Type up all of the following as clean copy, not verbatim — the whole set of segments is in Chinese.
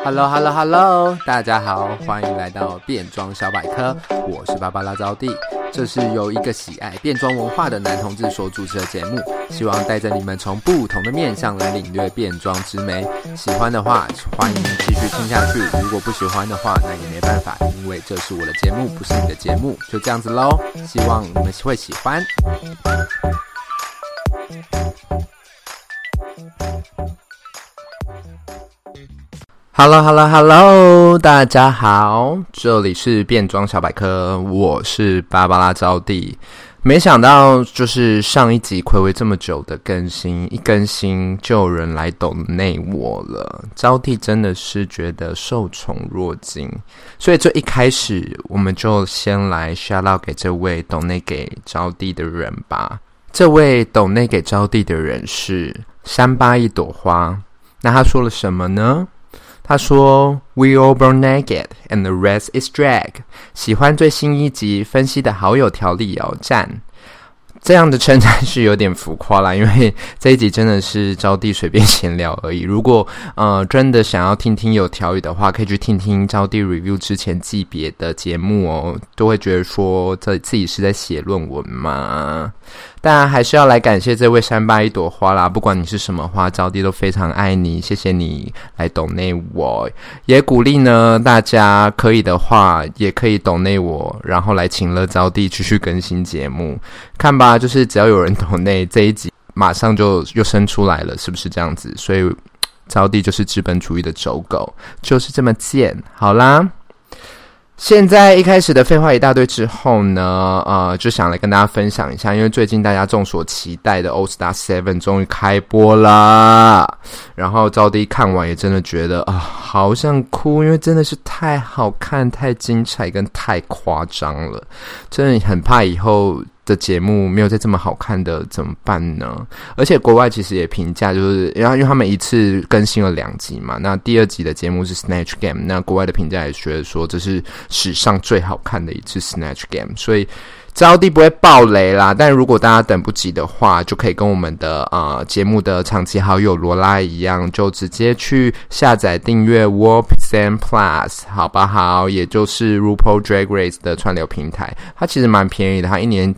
Hello， 大家好，歡迎來到變裝小百科，我是芭芭拉招弟。這是由一個喜愛變裝文化的男同志所主持的節目，希望帶着你們從不同的面向來領略變裝之美。喜歡的話，歡迎繼續聽下去；如果不喜歡的話，那也沒辦法，因為這是我的節目，不是你的節目，就這樣子咯。希望你們會喜歡。Hello， 大家好，這裡是變裝小百科，我是芭芭拉招弟。沒想到就是上一集睽違這麼久的更新，一更新就有人來抖內我了，招弟真的是覺得受寵若驚，所以這一開始我們就先來 shout out 給這位抖內給招弟的人吧。這位抖內給招弟的人是山巴一朵花，那他說了什麼呢？他說 We all born naked and the rest is drag。 喜歡最新一集，分析的好有條理哦，讚。這樣的稱讚是有點浮誇啦，因為這一集真的是招弟隨便閒聊而已。如果真的想要聽聽有條理的話，可以去聽聽招弟 review 之前季別的節目哦，都會覺得說自己是在寫論文嘛。當然還是要來感謝這位山巴一朵花啦，不管你是什麼花，招弟都非常愛你，謝謝你來抖內我，也鼓勵呢大家可以的話也可以抖內我，然後來請了招弟繼續更新節目。看吧，就是只要有人抖內，這一集馬上就又生出來了，是不是這樣子？所以招弟就是資本主義的走狗，就是這麼賤。好啦，現在一開始的廢話一大堆之後呢，就想來跟大家分享一下，因為最近大家眾所期待的 All Star 7終於開播啦，然後招弟看完也真的覺得好想哭，因為真的是太好看、太精彩跟太誇張了，真的很怕以後的節目沒有再這麼好看的怎麼辦呢？而且國外其實也評價，就是因為他們一次更新了2集嘛，那第2集的節目是 Snatch Game， 那國外的評價也覺得說這是史上最好看的一次 Snatch Game， 所以招弟不會爆雷啦，但如果大家等不及的話，就可以跟我們的節目的長期好友羅拉一樣，就直接去下載訂閱 Warp10 Plus 好不好？也就是 RuPaul Drag Race 的串流平台，它其實蠻便宜的，它一年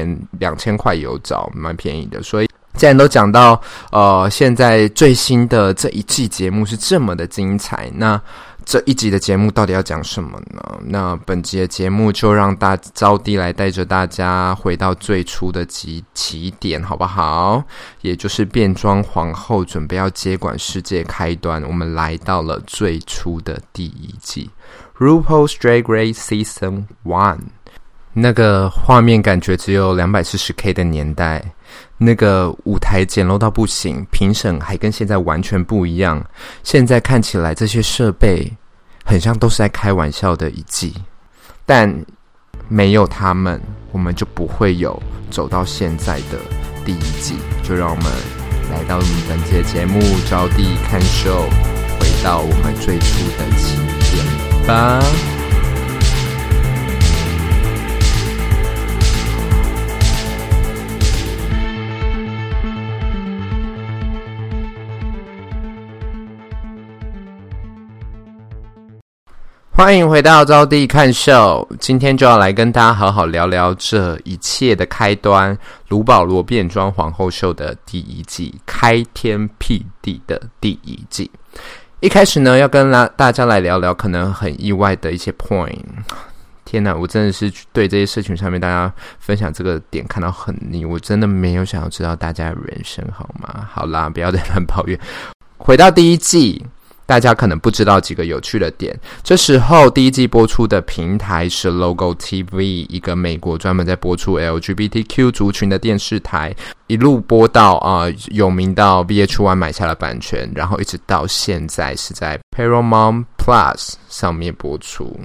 2000塊有找，蠻便宜的。所以既然都講到現在最新的這一季節目是這麼的精彩，那這一集的節目到底要講什麼呢？那本集的節目就讓招弟來帶着大家回到最初的起點，好不好？也就是變裝皇後準備要接管世界開端，我們來到了最初的第一季 RuPaul's Drag Race Season 1。那個畫面感覺只有 240K 的年代，那個舞台簡陋到不行，評審還跟現在完全不一樣。現在看起來這些設備很像都是在開玩笑的一季，但沒有他們，我們就不會有走到現在的第一季。就讓我們來到我們本期的節目招弟看秀，回到我們最初的起點吧。歡迎回到招弟看秀，今天就要來跟大家好好聊聊這一切的開端——盧保羅變裝皇后秀的第一季，開天闢地的第一季。一開始呢，要跟大家來聊聊可能很意外的一些 point。天哪，我真的是對這些社群上面大家分享這個點看到很膩，我真的沒有想要知道大家的人生好嗎？好啦，不要再亂抱怨。回到第一季，大家可能不知道幾個有趣的點。這時候第一季播出的平台是 Logo TV， 一個美國專門在播出 LGBTQ 族群的電視台，一路播到有名到 VH1 買下了版權，然後一直到現在是在 Paramount Plus 上面播出。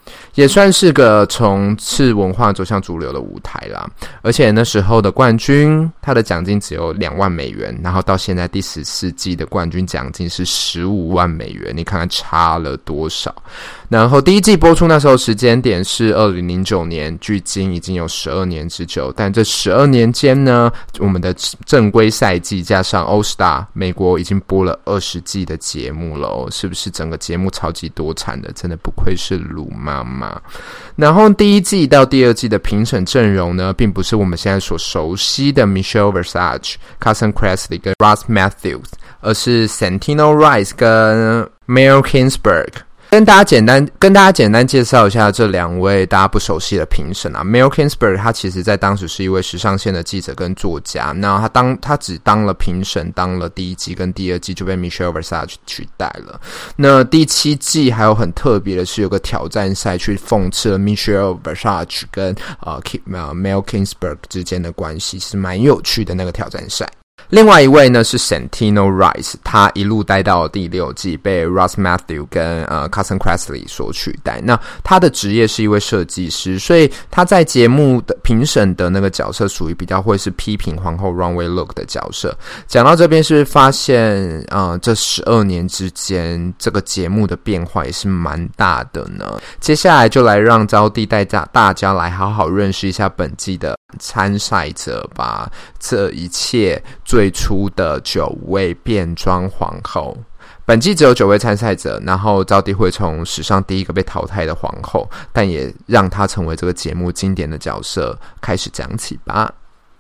也算是個從次文化走向主流的舞台啦。而且那時候的冠軍，他的獎金只有2萬美元，然後到現在第14季的冠軍獎金是15萬美元，你看看差了多少。然後第一季播出那時候時間點是2009年，距今已經有12年之久。但這12年間呢，我們的正規賽季加上 All Star， 美國已經播了20季的節目了哦，是不是整個節目超級多產的？真的不愧是魯媽媽。然後第一季到第二季的評審陣容呢，並不是我們現在所熟悉的 Michelle Visage、Carson Kressley 跟 Ross Matthews， 而是 Santino Rice 跟 Mel Kingsbury。跟大家簡單介紹一下這2位大家不熟悉的評審啊。Mel Kingsbury 他其實在當時是一位時尚線的記者跟作家，那他只當了評審，當了第1季跟第2季就被 Michelle Visage 取代了。那第7季還有很特別的是有個挑戰賽去諷刺了 Michelle Visage 跟Mel Kingsbury 之間的關係，是蠻有趣的那個挑戰賽。另外一位呢是 Santino Rice， 他一路待到第6季，被 Ross Matthews 跟Carson Kressley 所取代。那他的職業是一位設計師，所以他在節目的評審的那個角色屬於比較會是批評皇後 runway look 的角色。講到這邊，是不是發現這12年之間這個節目的變化也是蠻大的呢？接下來就來讓招弟帶大家來好好認識一下本季的參賽者吧。這一切最初的9位變裝皇後，本季只有9位參賽者，然後招弟會從史上第一個被淘汰的皇後，但也讓她成為這個節目經典的角色開始講起吧。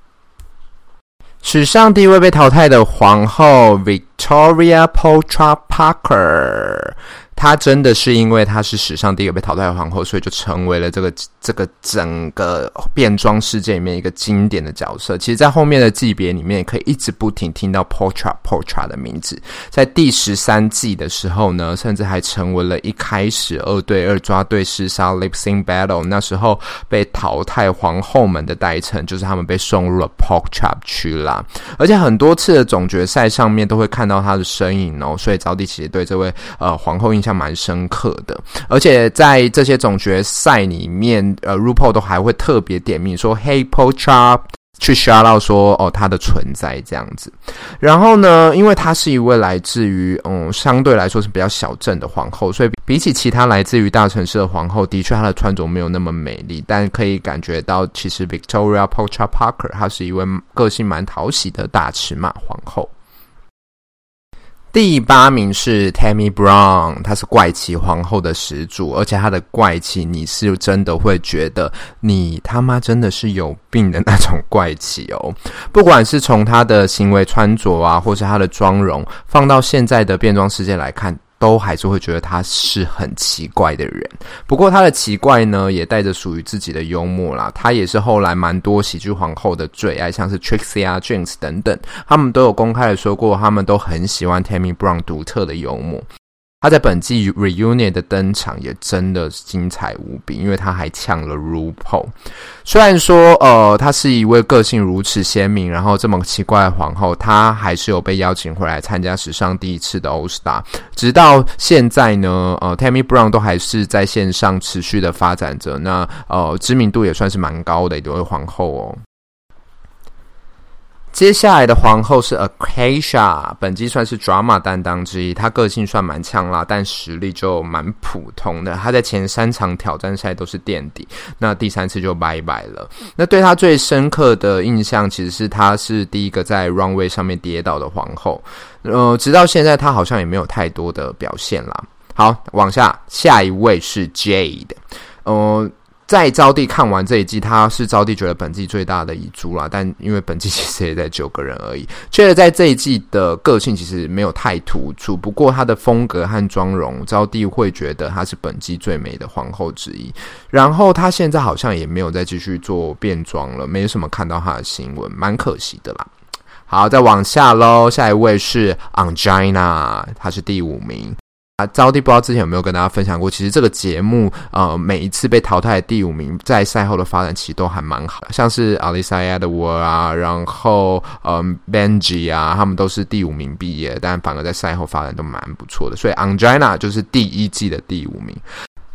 史上第一位被淘汰的皇後 Victoria Petra Parker，她真的是因為她是史上第一個被淘汰的皇後，所以就成為了这個整個變裝世界裡面一個經典的角色。其實在後面的季別裡面也可以一直不停聽到 Petra 的名字。在第13季的時候呢，甚至還成為了一開始2對2抓對廝殺 Lip Sync Battle 那時候被淘汰皇後們的代稱，就是他們被送入了 Petra 區啦。而且很多次的總決賽上面都會看到她的身影哦，所以招弟其實對這位皇後印象蠻深刻的。而且在這些總決賽裡面RuPaul 都還會特別點名說 Hey Petra， 去 shout out 說她的存在這樣子。然後呢，因為她是一位來自於相對來說是比較小鎮的皇後，所以比起其他來自於大城市的皇後，的確她的穿着沒有那麼美麗，但可以感覺到其實 Victoria Petra Parker 她是一位個性蠻討喜的大尺碼皇後。第8名是 Tammy Brown， 她是怪奇皇後的始祖，而且她的怪奇你是真的會覺得你他媽真的是有病的那種怪奇哦。不管是從她的行為穿着啊，或是她的妝容，放到現在的變裝世界來看，都還是會覺得他是很奇怪的人。不過他的奇怪呢，也帶着屬於自己的幽默啦。他也是後來蠻多喜劇皇後的最愛，像是 Trixie 啊、Jinx 等等，他們都有公開的說過，他們都很喜歡 Tammy Brown 獨特的幽默。他在本季 Reunion 的登場也真的精彩無比，因為他還嗆了 RuPaul。雖然說他是一位個性如此鮮明，然後這麼奇怪的皇後，他還是有被邀請回來參加史上第一次的 All Star。直到現在呢Tammy Brown 都還是在線上持續的發展着，那知名度也算是蠻高的一位皇後哦。接下來的皇後是 Acacia， 本季算是 drama 擔當之一，她個性算蠻嗆辣，但實力就蠻普通的。她在前3場挑戰賽都是墊底，那第3次就拜拜了。那對她最深刻的印象，其實是她是第一個在 runway 上面跌倒的皇後。直到現在她好像也沒有太多的表現啦。好，往下一位是 Jade。在招弟看完這一季，他是招弟覺得本季最大的遺珠啦，但因為本季其實也在9個人而已。覺得在這一季的個性其實沒有太突出，不過他的風格和妝容，招弟會覺得他是本季最美的皇後之一。然後他現在好像也沒有再繼續做變裝了，沒什麼看到他的新聞，蠻可惜的啦。好，再往下咯，下一位是 Ongina， 他是第5名。招弟不知道之前有沒有跟大家分享過，其實這個節目每一次被淘汰的第5名在賽後的發展其實都還蠻好的，像是 Alyssa Edwards 啊，然後Benji 啊，他們都是第5名畢業，但反而在賽後發展都蠻不錯的，所以 Ongina 就是第1季的第5名。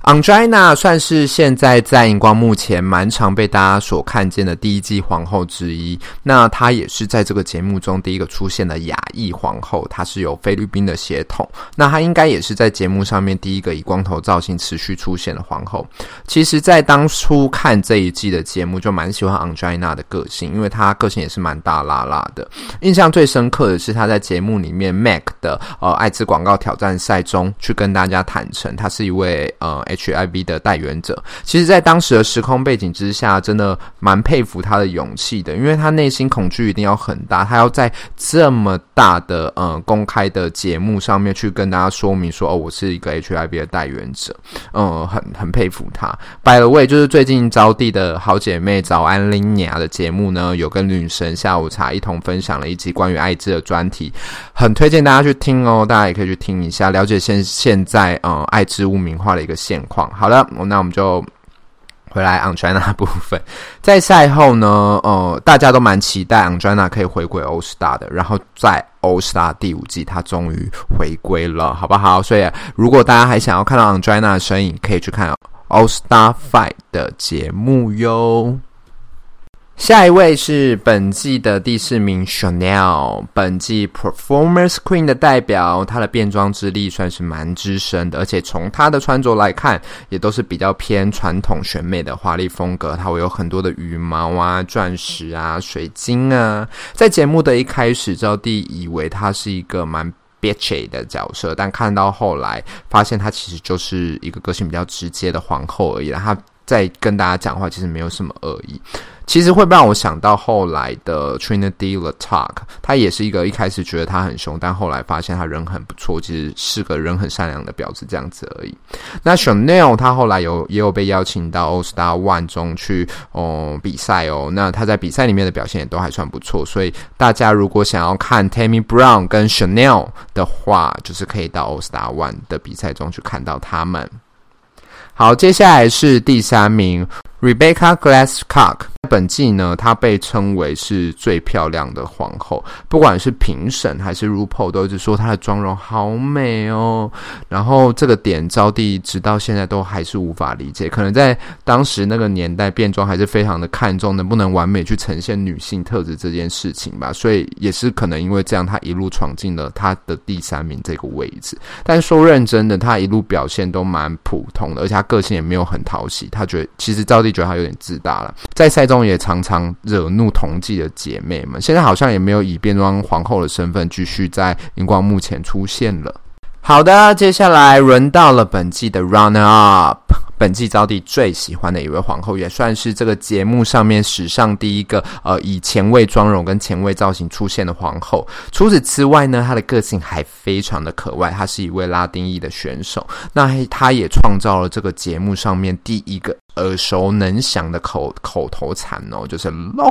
Ongina 算是現在在熒光幕前蠻常被大家所看見的第一季皇後之一。那她也是在這個節目中第一個出現的亞裔皇後，她是有菲律賓的血統。那她應該也是在節目上面第一個以光頭造型持續出現的皇後。其實在當初看這一季的節目就蠻喜歡 Ongina 的個性，因為她個性也是蠻大剌剌的。印象最深刻的是她在節目裡面 MAC 的艾滋廣告挑戰賽中去跟大家坦誠，她是一位HIV 的代言者。其實在當時的時空背景之下，真的蠻佩服他的勇氣的，因為他內心恐懼一定要很大，他要在這麼大的公開的節目上面去跟大家說明說，我是一個 HIV 的代言者。很佩服他。By the way， 就是最近招娣的好姐妹早安拎娘的節目呢，有跟女神下午茶一同分享了一集關於艾滋的專題，很推薦大家去聽哦，大家也可以去聽一下，了解現在艾滋污名化的一個現況。好了，那我們就回來 Ongina 部分。在賽後呢，大家都蠻期待 Ongina 可以回歸 All Star 的，然後在 All Star 第5季，他終於回歸了，好不好？所以如果大家還想要看到 Ongina 的身影，可以去看 All Star 5的節目喲。下一位是本季的第4名 Chanel， 本季 Performance Queen 的代表，她的變裝之力算是蠻資深的，而且從她的穿着來看，也都是比較偏傳統選美的華麗風格，她會有很多的羽毛啊、鑽石啊、水晶啊。在節目的一開始，招娣以為她是一個蠻bitchy 的角色，但看到後來發現她其實就是一個個性比較直接的皇後而已啦，她在跟大家講話其實沒有什麼惡意。其實會讓我想到後來的 Trinity the Talk， 他也是一個一開始覺得他很凶，但後來發現他人很不錯，其實是個人很善良的婊子這樣子而已。那 Chanel 他後來也有被邀請到 All Star 1中去比賽哦，那他在比賽裡面的表現也都還算不錯，所以大家如果想要看 Tammy Brown 跟 Chanel 的話，就是可以到 All Star 1的比賽中去看到他們。好，接下來是第3名 Rebecca Glasscock。本季呢，她被稱為是最漂亮的皇後，不管是評審還是 RuPaul 都一直說她的妝容好美哦。然後这個點招娣直到現在都還是無法理解，可能在當時那個年代變裝還是非常的看重能不能完美去呈現女性特質這件事情吧，所以也是可能因為這樣，她一路闖進了她的第3名這個位置。但說認真的，她一路表現都蠻普通的，而且她個性也沒有很討喜，她覺得其實招娣覺得她有點自大了，在賽中也常常惹怒同季的姐妹們，現在好像也沒有以變裝皇後的身份繼續在熒光幕前出現了。好的，接下來輪到了本季的 Runner Up， 本季招娣最喜歡的一位皇後，也算是這個節目上面史上第一個以前衛妝容跟前衛造型出現的皇後。除此之外呢，她的個性還非常的可愛，她是一位拉丁裔的選手，那她也創造了這個節目上面第一個耳熟能詳的口頭禪哦，就是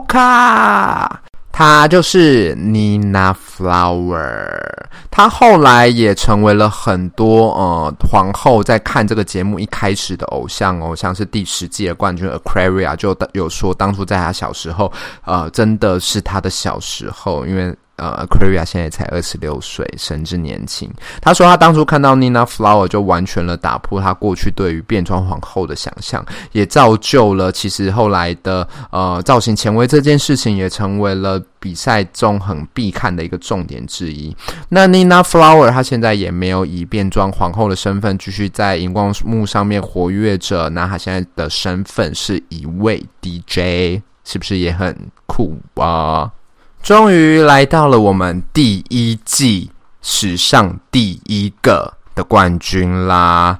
Loca。她就是 Nina Flower， 她後來也成為了很多皇後在看這個節目一開始的偶像哦，像是第10季的冠軍 Aquaria 就有說，當初在她小時候，真的是她的小時候，因為Aquaria 現在才26歲，神之年輕。他說他當初看到 Nina Flower 就完全了打破他過去對於變裝皇後的想象，也造就了其實後來的造型前衛這件事情也成為了比賽中很必看的一個重點之一。那 Nina Flower 她現在也沒有以變裝皇後的身份繼續在熒光幕上面活躍着，那她現在的身份是一位 DJ， 是不是也很酷啊？終於來到了我們第1季史上第1個的冠軍啦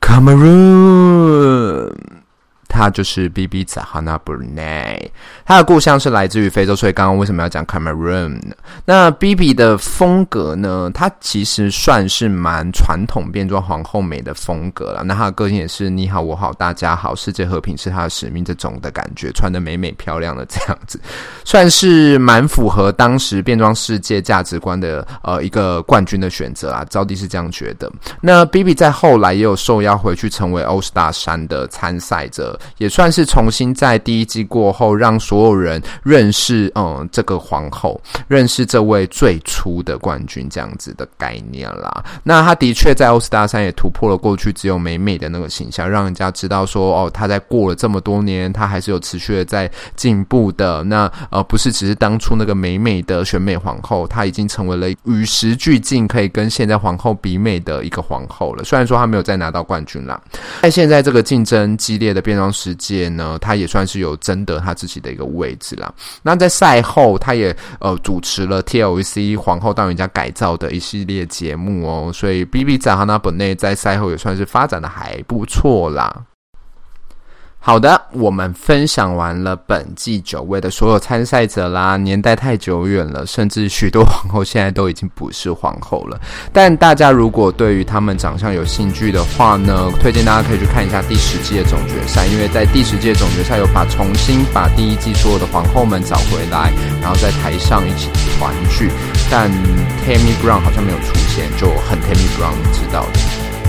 Cameroon， 他就是 Bibi Zahara Benet， 他的故鄉是來自於非洲，所以剛剛為什麼要講 Cameroon 呢？那 Bibi 的風格呢，他其實算是蠻傳統變裝皇後美的風格啦，那他的個性也是你好我好大家好，世界和平是他的使命這種的感覺，穿得美美漂亮的這樣子，算是蠻符合當時變裝世界價值觀的一個冠軍的選擇啦，招娣是這樣覺得。那 Bibi 在後來也有受邀回去成為 All Star 3的參賽者， 也算是重新在第一季過後讓所有人認識這個皇後，認識這位最初的冠軍這樣子的概念啦。那他的確在歐斯大賽也突破了過去只有美美的那個形象，讓人家知道說他在過了這麼多年，他還是有持續的在進步的。那不是只是當初那個美美的選美皇後，她已經成為了與時俱進，可以跟現在皇後比美的一個皇後了。雖然說她沒有再拿到冠軍啦，在現在这個競爭激烈的變裝世界呢，她也算是有爭得她自己的一個位置啦。那在賽後，她也主持了 TLC 皇后當人家改造的一系列節目哦，所以 Bibi Zahara Benet 在賽後也算是發展的還不錯啦。好的，我們分享完了本季9位的所有參賽者啦，年代太久遠了，甚至許多皇後現在都已經不是皇後了。但大家如果對於他們長相有興趣的話呢，推薦大家可以去看一下第10季的總決賽，因為在第10季的總決賽有重新把第一季所有的皇後們找回來，然後在台上一起團聚。但 Tammy Brown 好像沒有出現，就很 Tammy Brown 知道的。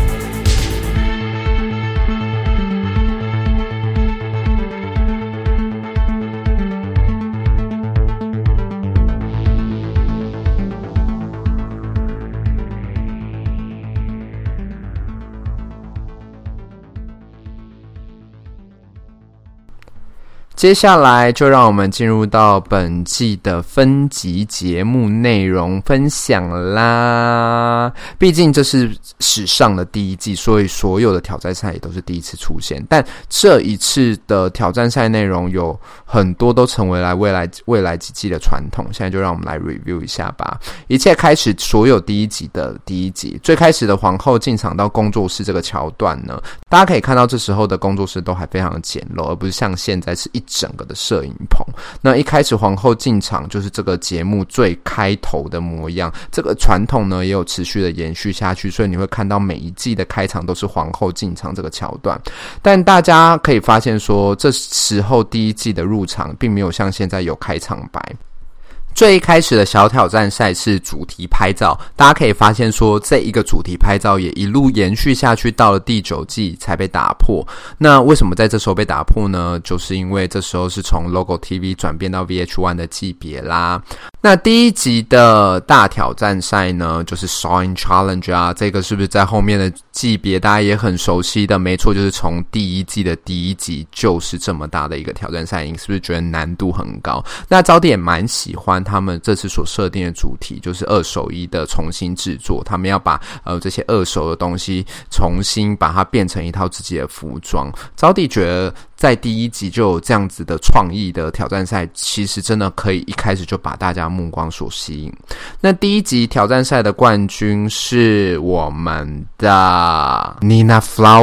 接下來就讓我們進入到本季的分級節目內容分享啦。畢竟這是史上的第一季，所以所有的挑戰賽也都是第一次出現。但這一次的挑戰賽內容有很多都成為了未來幾季的傳統。現在就讓我們來 review 一下吧。一切開始，所有第一集的第一集，最開始的皇後進場到工作室這個橋段呢，大家可以看到這時候的工作室都還非常的簡陋，而不是像現在是一整個的攝影棚。那一開始皇后進場就是這個節目最開頭的模樣，這個傳統呢也有持續的延續下去，所以你會看到每一季的開場都是皇后進場這個橋段。但大家可以發現說，這時候第一季的入場並沒有像現在有開場白。最一開始的小挑戰賽是主題拍照，大家可以發現說這一個主題拍照也一路延續下去，到了第9季才被打破。那為什麼在這時候被打破呢？就是因為這時候是從 Logo TV 轉變到 VH1 的級別啦。那第一集的大挑戰賽呢，就是 Sewing Challenge 啊，這個是不是在後面的級別大家也很熟悉的？沒錯，就是從第一季的第一集就是這麼大的一個挑戰賽，你是不是覺得難度很高？那招弟也蠻喜歡他們這次所設定的主題，就是二手衣的重新制作，他們要把這些二手的東西重新把它變成一套自己的服裝。招弟覺得在第一集就有這樣子的創意的挑戰賽，其實真的可以一開始就把大家目光所吸引。那第一集挑戰賽的冠軍是我們的 Nina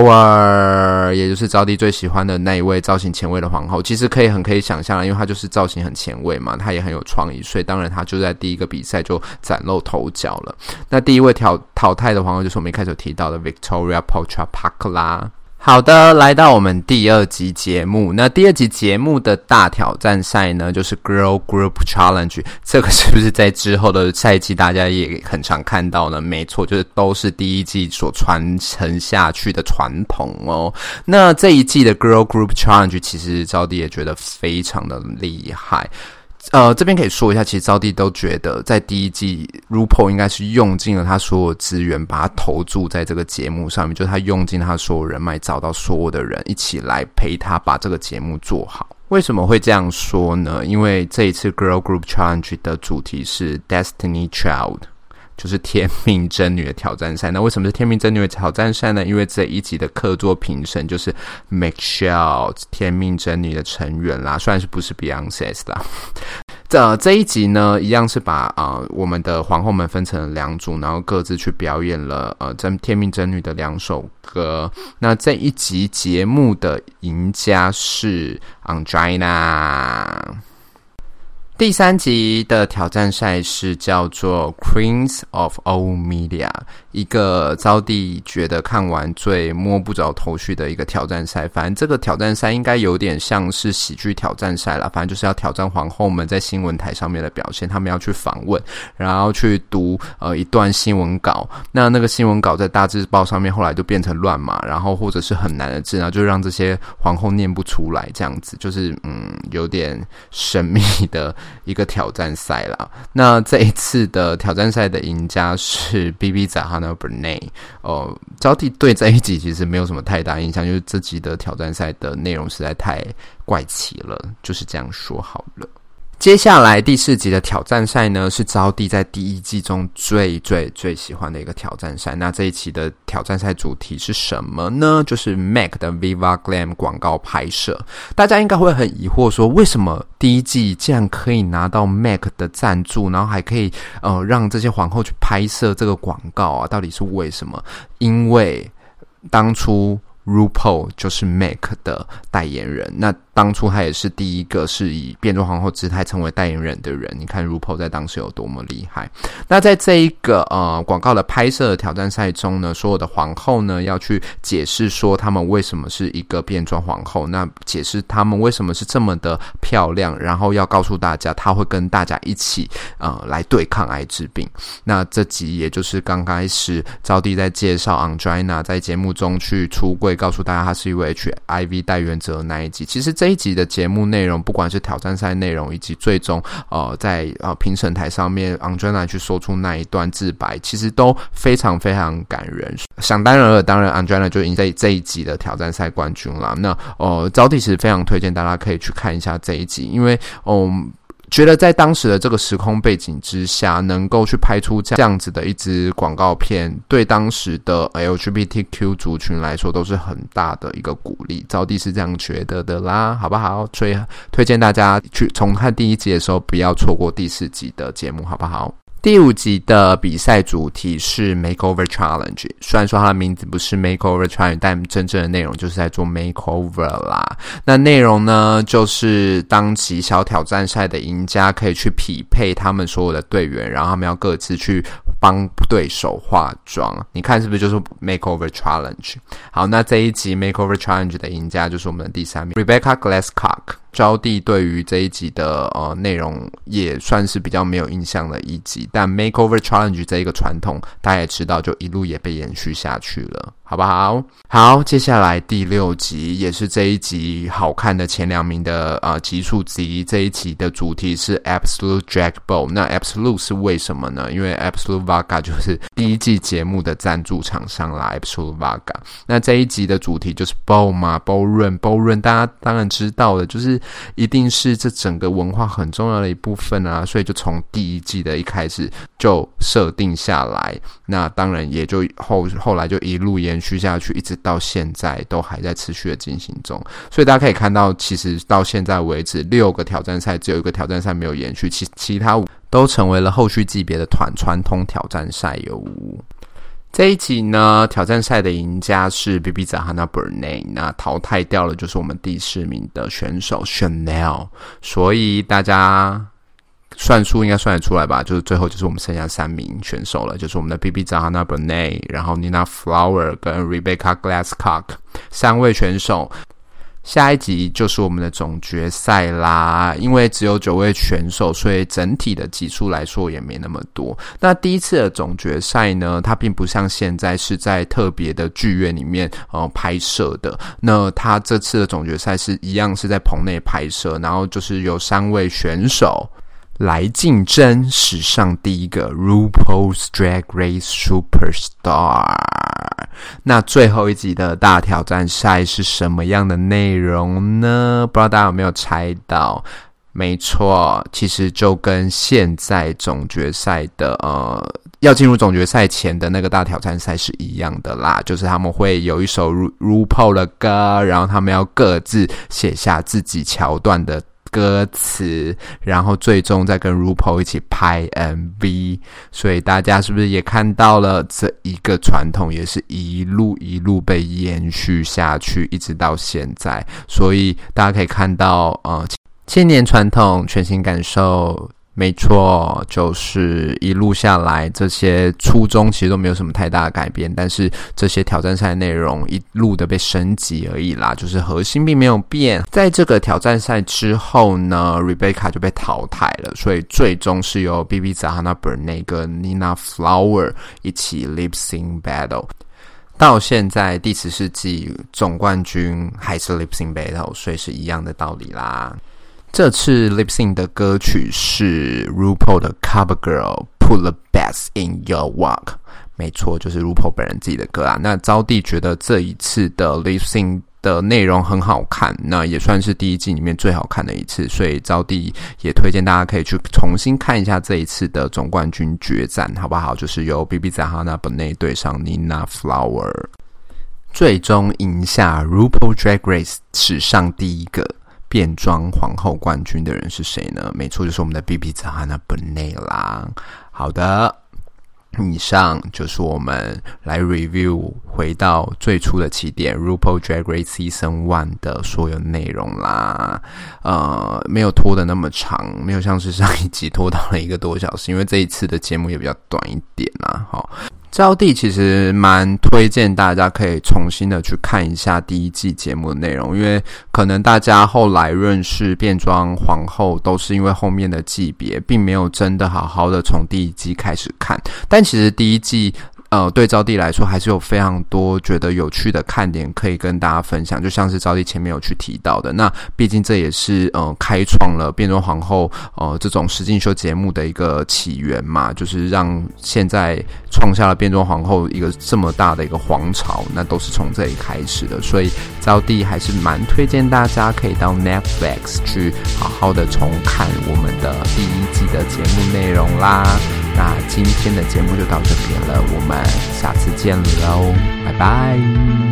Flower， 也就是招弟最喜歡的那一位造型前衛的皇後。其實可以想象，因為她就是造型很前衛嘛，她也很有創意，所以當然她就在第一個比賽就嶄露頭角了。那第一位淘汰的皇後就是我們一開始有提到的 Victoria Petrarca 啦。好的，來到我們第2集節目。那第2集節目的大挑戰賽呢，就是 Girl Group Challenge。這個是不是在之後的賽季大家也很常看到呢？沒錯，就是都是第一季所傳承下去的傳統哦。那這一季的 Girl Group Challenge 其實招弟也覺得非常的厲害。這邊可以說一下，其實招弟都覺得在第一季 RuPaul 應該是用盡了他所有資源，把他投注在這個節目上面，就是他用盡他所有人脈，找到所有的人一起來陪他把這個節目做好。為什麼會這樣說呢？因為這一次 Girl Group Challenge 的主題是 Destiny Child，就是天命真女的挑戰賽。那為什麼是天命真女的挑戰賽呢？因為這一集的客座評審就是 Michelle， 天命真女的成員啦，雖然是不是 Beyoncé 啦。這一集呢，一樣是把我們的皇後們分成了2組，然後各自去表演了天命真女的2首歌。那這一集節目的贏家是 Ongina。第3集的挑戰賽是叫做 Queens of All Media， 一個招娣覺得看完最摸不着頭緒的一個挑戰賽。反正這個挑戰賽應該有點像是喜劇挑戰賽啦，反正就是要挑戰皇後們在新聞台上面的表現，他們要去訪問，然後去讀一段新聞稿。那個新聞稿在大字報上面後來就變成亂碼，然後或者是很難的字，然後就讓這些皇後念不出來，這樣子就是有點神秘的一個挑戰賽啦。那這一次的挑戰賽的贏家是 Bibi Zahara Benet。招娣對這一集其實沒有什麼太大印象，就是這集的挑戰賽的內容實在太怪奇了，就是這樣說好了。接下來第4集的挑戰賽呢，是招娣在第1季中最喜歡的一個挑戰賽。那這一期的挑戰賽主題是什麼呢？就是 MAC 的 Viva Glam 廣告拍攝。大家應該會很疑惑說，為什麼第1季竟然可以拿到 MAC 的贊助，然後還可以讓這些皇後去拍攝這個廣告啊？到底是為什麼？因為當初 RuPaul 就是 MAC 的代言人，那當初他也是第一個是以變装皇後姿態成為代言人的人。你看 RuPaul 在當時有多麼厲害。那在這一個廣告的拍攝的挑戰賽中呢，所有的皇後呢要去解釋說他們為什麼是一個變裝皇後，那解釋他們為什麼是這麼的漂亮，然後要告訴大家他會跟大家一起來對抗艾滋病。那這集也就是剛開始招娣在介紹 Andrina 在節目中去出櫃，告訴大家他是一位 HIV 代言者的那一集。其實這一集的節目內容，不管是挑戰賽內容，以及最終在評審台上面 Andrina 去說出那一段自白，其實都非常非常感人。想當然了，當然 Andrina 就贏在這一集的挑戰賽冠軍啦。那招娣其實非常推薦大家可以去看一下這一集，因為覺得在當時的這個時空背景之下，能夠去拍出這樣子的一支廣告片，對當時的 LGBTQ 族群來說都是很大的一個鼓勵。招娣是這樣覺得的啦，好不好？所以推薦大家去重看第1集的時候，不要錯過第4集的節目，好不好？第5集的比賽主題是 Makeover Challenge， 雖然說它的名字不是 Makeover Challenge， 但真正的內容就是在做 Makeover 啦。那內容呢，就是當期小挑戰賽的贏家可以去匹配他們所有的隊員，然後他們要各自去幫對手化妝。你看是不是就是 Makeover Challenge？ 好，那這一集 Makeover Challenge 的贏家就是我們的第3名 Rebecca Glasscock。招娣對於這一集的內容也算是比較沒有印象的一集，但 Makeover Challenge 這一個傳統大家也知道，就一路也被延續下去了，好不好？好，接下來第6集也是這一集好看的前2名的集數之一。這一集的主題是 Absolute Drag Ball。那 Absolute 是為什麼呢？因為 Absolute Vodka 就是第1季節目的贊助廠商啦 ，Absolute Vodka。那這一集的主題就是 Ball 嘛 ，Ballroom，大家當然知道的，就是一定是這整個文化很重要的一部分啊，所以就從第1季的一開始就設定下來。那當然也就後來就一路延續下去，一直到現在都還在持續的進行中。所以大家可以看到，其實到現在為止6個挑戰賽，只有1個挑戰賽沒有延續，其他5都成為了後續級別的傳統挑戰賽喲。這一集呢，挑戰賽的贏家是 Bibi Zahara Benet， 那淘汰掉了就是我們第4名的選手 Chanel， 所以大家算数應該算得出來吧，就是最後就是我們剩下3名選手了，就是我們的 Bibi Zahara Benet， 然後 Nina Flower 跟 Rebecca Glasscock 3位選手。下一集就是我們的總決賽啦，因為只有9位選手，所以整體的集數來說也沒那麼多。那第一次的總決賽呢，它並不像現在是在特別的劇院裡面拍攝的，那它這次的總決賽是一樣是在棚內拍攝，然後就是有3位選手來競爭史上第一個 RuPaul's Drag Race Superstar。那最後一集的大挑戰賽是什麼樣的內容呢？不知道大家有沒有猜到？沒錯，其實就跟現在總決賽的要進入總決賽前的那個大挑戰賽是一樣的啦，就是他們會有一首 RuPaul 的歌，然後他們要各自寫下自己橋段的歌詞，然後最終再跟 RuPaul 一起拍 MV。 所以大家是不是也看到了這一個傳統也是一路被延續下去，一直到現在。所以大家可以看到千年傳統，全新感受， 沒錯，就是一路下來，這些初衷其實都沒有什麼太大的改變，但是這些挑戰賽內容一路的被升級而已啦，就是核心並沒有變。在這個挑戰賽之後呢 ，Rebecca 就被淘汰了，所以最終是由 BeBe Zahara Benet 跟 Nina Flower 一起 Lip Sync Battle。到現在第14季總冠軍還是 Lip Sync Battle， 所以是一樣的道理啦。這次 Lip Sync 的歌曲是 RuPaul 的 CoverGirl Put the Best in Your Work， 沒錯，就是 RuPaul 本人自己的歌啊。那招弟覺得這一次的 Lip Sync 的內容很好看，那也算是第一季裡面最好看的一次，所以招弟也推薦大家可以去重新看一下這一次的總冠軍決戰，好不好？就是由 BeBe Zahara Benet 對上 Nina Flower， 最終贏下 RuPaul Drag Race 史上第一個變裝皇後冠軍的人是誰呢？沒錯，就是我們的 BeBe Zahara Benet 啦。好的，以上就是我們來 review 回到最初的起點 RuPaul Drag Race Season 1的所有內容啦。沒有拖得那麼長，沒有像是上一集拖到了1個多小時，因為這一次的節目也比較短一點啦。好，招弟其實蠻推薦大家可以重新的去看一下第一季節目的內容，因為可能大家後來認識變裝皇後都是因為後面的季別，並沒有真的好好的從第一季開始看。但其實第一季對招弟來說還是有非常多覺得有趣的看點可以跟大家分享，就像是招弟前面有去提到的，那畢竟這也是開創了變裝皇後這種實境秀節目的一個起源嘛，就是讓現在創下了變裝皇後一個這麼大的一個皇朝，那都是從這裡開始的，所以招弟還是蠻推薦大家可以到 Netflix 去好好的重看我們的第一季的節目內容啦。那今天的節目就到這邊了，我們下次見嘍，拜拜。